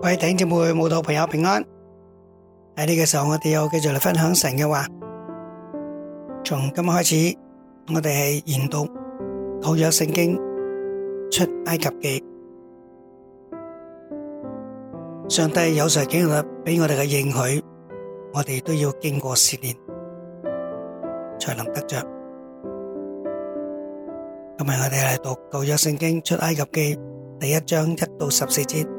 各位弟兄姊妹、慕道朋友平安。喺呢個時候，我哋又繼續嚟分享神嘅話。從今日開始，我哋係研讀舊約聖經出埃及記。上帝有時經歷俾我哋嘅應許，我哋都要經過試煉，才能得着。今日我哋嚟讀舊約聖經出埃及記第1章1到14節。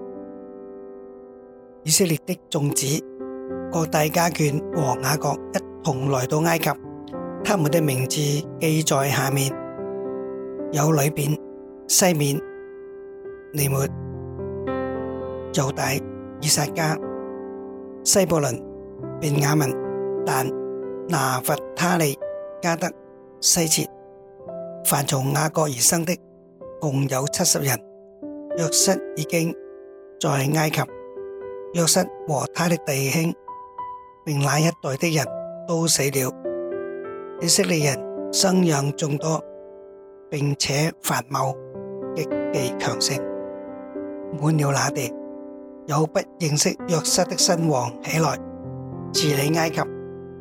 以色列的眾子各帶家眷和雅各一同來到埃及，他們的名字記在下面：有流便、西緬、尼末、猶大、以撒迦、西布倫、便雅憫、但、拿弗他利、迦得、西切。凡從雅各而生的共有70人。約瑟已經在埃及，約瑟和他的弟兄並那一代的人都死了。以色列人生養眾多，並且繁茂，極其強盛，滿了那地。有不認識約瑟的新王起來治理埃及，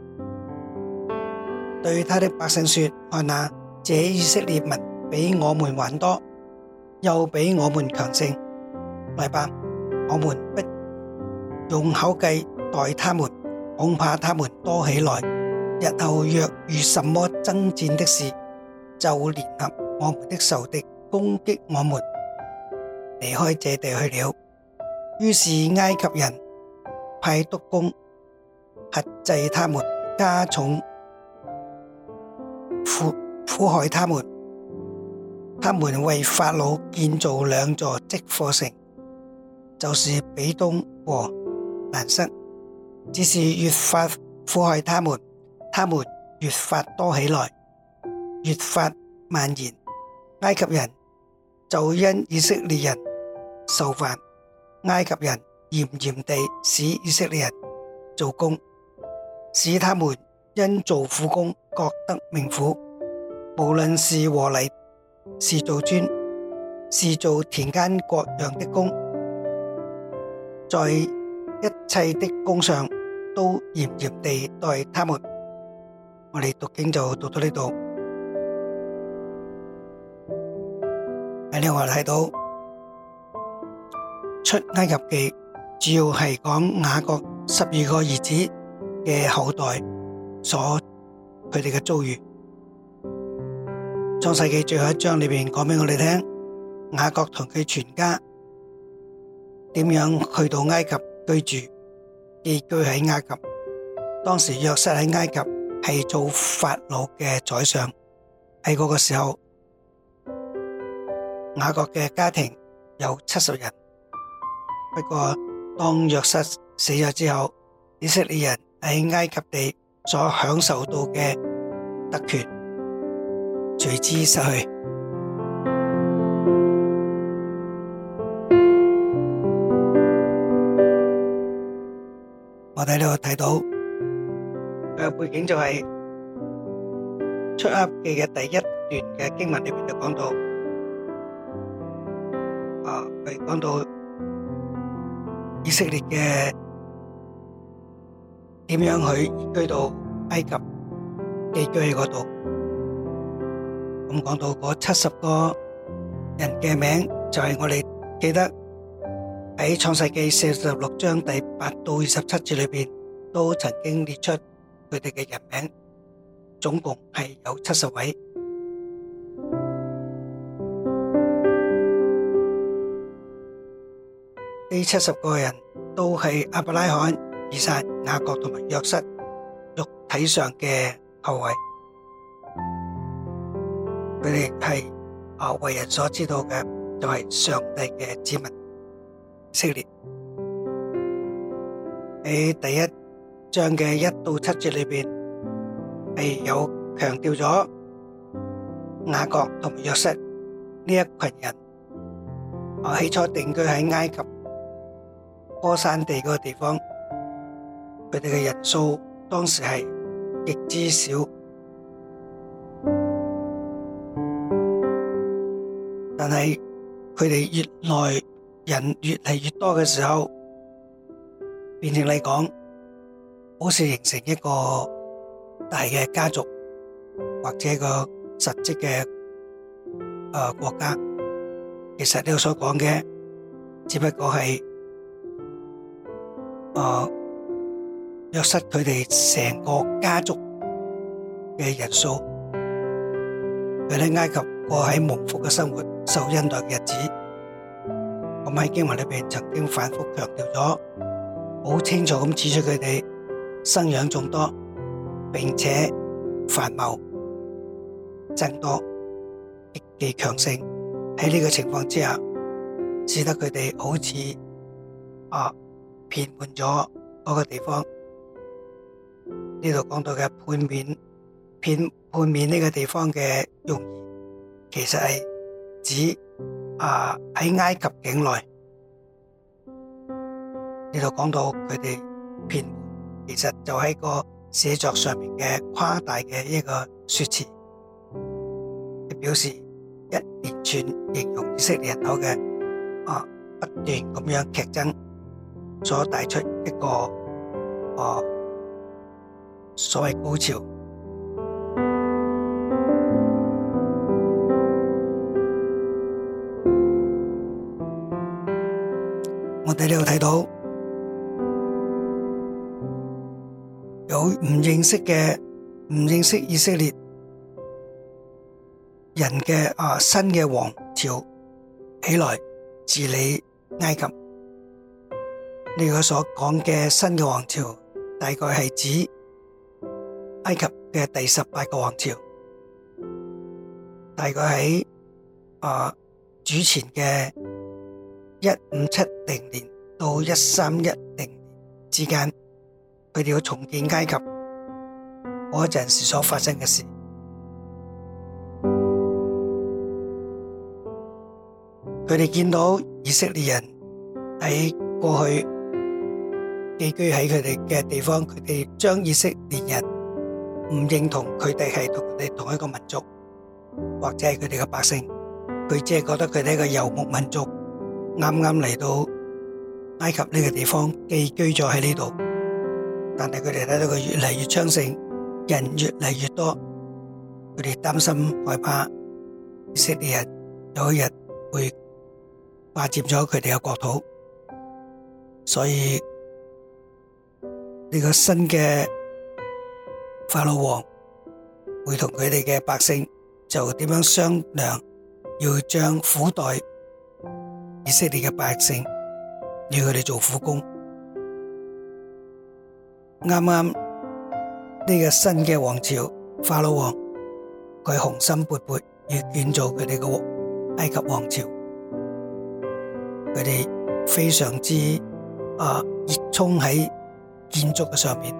對他的百姓說：看哪，這以色列民比我們還多，又比我們強盛。來吧，我們不用口計待他們，恐怕他們多起來，日後若遇什麼爭戰的事，就聯合我們的仇敵攻擊我們，離開這地去了。於是埃及人派督工轄制他們，加重苦害他們。他們為法老建造2座積貨城，就是比東和蘭塞。只是越發苦害他們，他們越發多起來，越發蔓延。埃及人就因以色列人受煩，埃及人嚴嚴地使以色列人做工，使他們因做苦工覺得命苦。無論是和泥，是做磚，是做田間各樣的工，在一切的工上都嚴嚴地待他們。我哋讀經就讀到呢度。喺呢，我哋睇到出埃及記主要係講雅各12個兒子嘅後代佢哋嘅遭遇。創世記最後1章裏面講俾我哋聽，雅各同佢全家點樣去到埃及居住，寄居喺埃及。當時約瑟喺埃及係做法老嘅宰相。喺嗰個時候，雅各嘅家庭有70人。不過當約瑟死咗之後，以色列人喺埃及地所享受到嘅特權隨之失去。我喺呢度睇到佢嘅背景就係出埃及記嘅第1段嘅經文裏面就講到，佢講到以色列嘅點樣去移居到埃及，寄居喺嗰度。咁講到嗰70個人嘅名，就係我哋記得喺創世記46章第8到27節裏邊，都曾經列出佢哋嘅人名，總共係有70位。呢70個人都係亞伯拉罕、以撒、雅各同埋約瑟肉體上嘅後裔。佢哋係為人所知道嘅，就係上帝嘅子民以色列。喺第1章嘅1到7節裏邊，係有強調咗雅各同埋約瑟呢一群人，起初定居喺埃及歌珊地嗰個地方，佢哋嘅人數當時係極之少。但係佢哋越來人越嚟越多嘅時候，變成嚟講，好似形成一個大嘅家族或者一個實質嘅國家。其實呢度所講嘅只不過係約瑟佢哋成個家族嘅人數，佢喺埃及過喺蒙福嘅生活、受恩待嘅日子。咁喺經文裏邊曾經反覆強調咗，好清楚咁指出佢哋生養眾多，並且繁茂增多，極其強盛。喺呢個情況之下，使得佢哋好似遍滿咗嗰個地方。呢度講到嘅判面呢個地方嘅用意，其實係指喺埃及境內。呢度講到佢哋遍滿，其實就喺個寫作上面嘅誇大嘅一個說辭，表示一連串形容以色列人口嘅不斷咁樣劇增，所帶出一個所謂高潮。我哋呢度睇到有唔認識以色列人嘅新嘅王朝起來治理埃及。呢個所講嘅新嘅王朝，大概係指埃及嘅第18個王朝，大概喺主前嘅1570年到1310年之間，佢哋要重建埃及嗰陣時所發生嘅事。佢哋見到以色列人喺過去寄居喺佢哋嘅地方，佢哋將以色列人唔認同佢哋係同佢哋同一個民族，或者係佢哋嘅百姓，佢只係覺得佢哋係一個游牧民族，啱啱嚟到埃及呢個地方寄居咗喺呢度。但係佢哋睇到佢越嚟越昌盛，人越嚟越多，佢哋擔心害怕以色列人有一日會霸佔咗佢哋嘅國土，所以呢個新嘅法老王會同佢哋嘅百姓就點樣商量，要將苦待以色列嘅百姓，要佢哋做苦工。啱啱呢個新嘅王朝法老王，佢雄心勃勃要建造佢哋嘅埃及王朝，佢哋非常之熱衷喺建築嘅上面。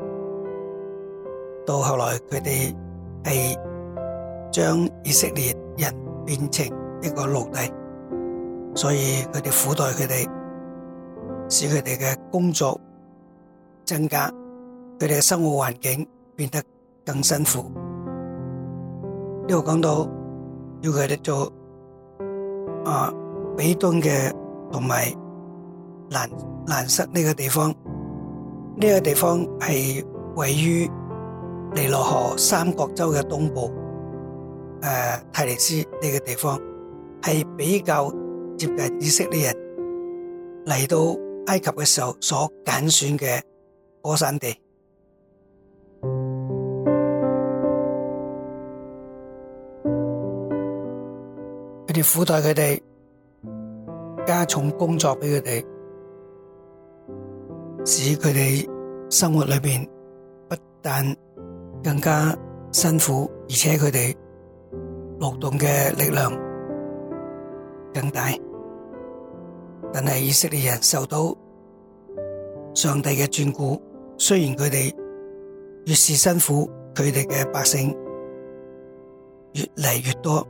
到後來佢哋係將以色列人變成一個奴隸，所以佢哋苦待佢哋，使佢哋嘅工作增加，佢哋嘅生活環境變得更辛苦。呢度講到要佢哋做比敦嘅同埋蘭塞呢個地方，呢個地方係位於尼羅河三角洲嘅東部，泰尼斯呢個地方係比較接近以色列人嚟到埃及嘅時候所揀選嘅歌珊地。佢哋苦待佢哋，加重工作俾佢哋，使佢哋生活裏邊不但更加辛苦，而且佢哋勞動嘅力量更大。但係以色列人受到上帝嘅眷顧，雖然佢哋越是辛苦，佢哋嘅百姓越嚟越多。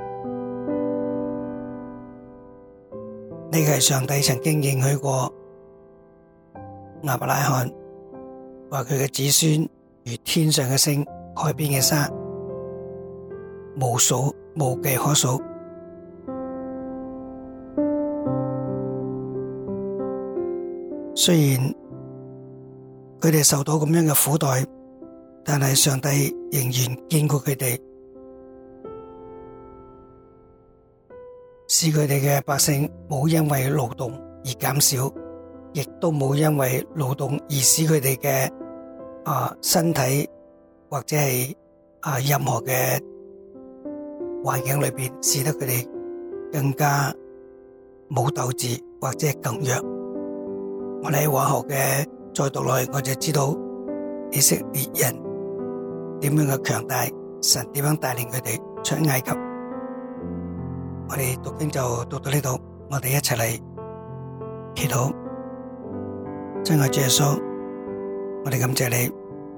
呢個係上帝曾經應許過亞伯拉罕，話佢嘅子孫如天上嘅星、海邊嘅沙，無數無計可數。 雖然佢哋受到咁樣嘅苦待，但係上帝仍然堅固佢哋，使佢哋嘅百姓冇因為勞動而減少，亦都冇因為勞動而使佢哋嘅身體或者係任何嘅環境裏邊，使得佢哋更加冇鬥志或者係更弱。我哋喺往後嘅再讀落去，我就知道以色列人點樣嘅強大，神點樣帶領佢哋出埃及。我哋讀經就讀到呢度，我哋一齊嚟祈禱。親愛主耶穌，我哋感謝你，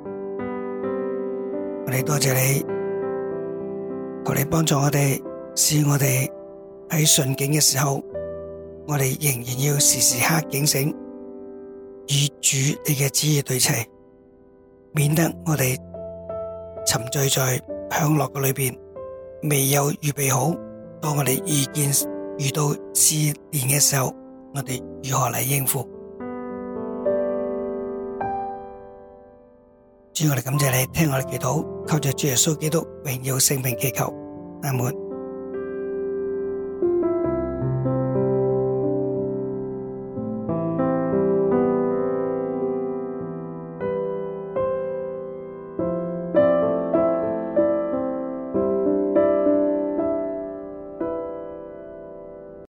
我哋多謝你，求你幫助我哋，使我哋喺順境嘅時候，我哋仍然要時時刻警醒，與主你嘅旨意對齊，免得我哋沉醉在享樂嘅裏邊，未有預備好。當我哋遇到試煉嘅時候，我哋如何嚟應付？主，我哋感謝你，聽我哋祈禱，靠着主耶穌基督榮耀聖名祈求，阿門。